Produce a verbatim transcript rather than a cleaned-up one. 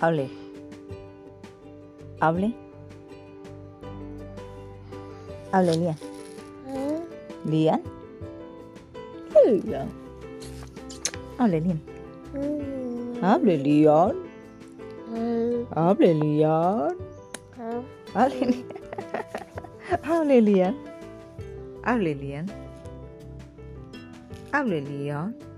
Hable. Hable. Hable, Lian. Lian. Lian. Hable, Lian. Hable, Lian. Hable, Lian. Hable, Lian. Hable, Lian. Hable, Lian. Hable, Lian.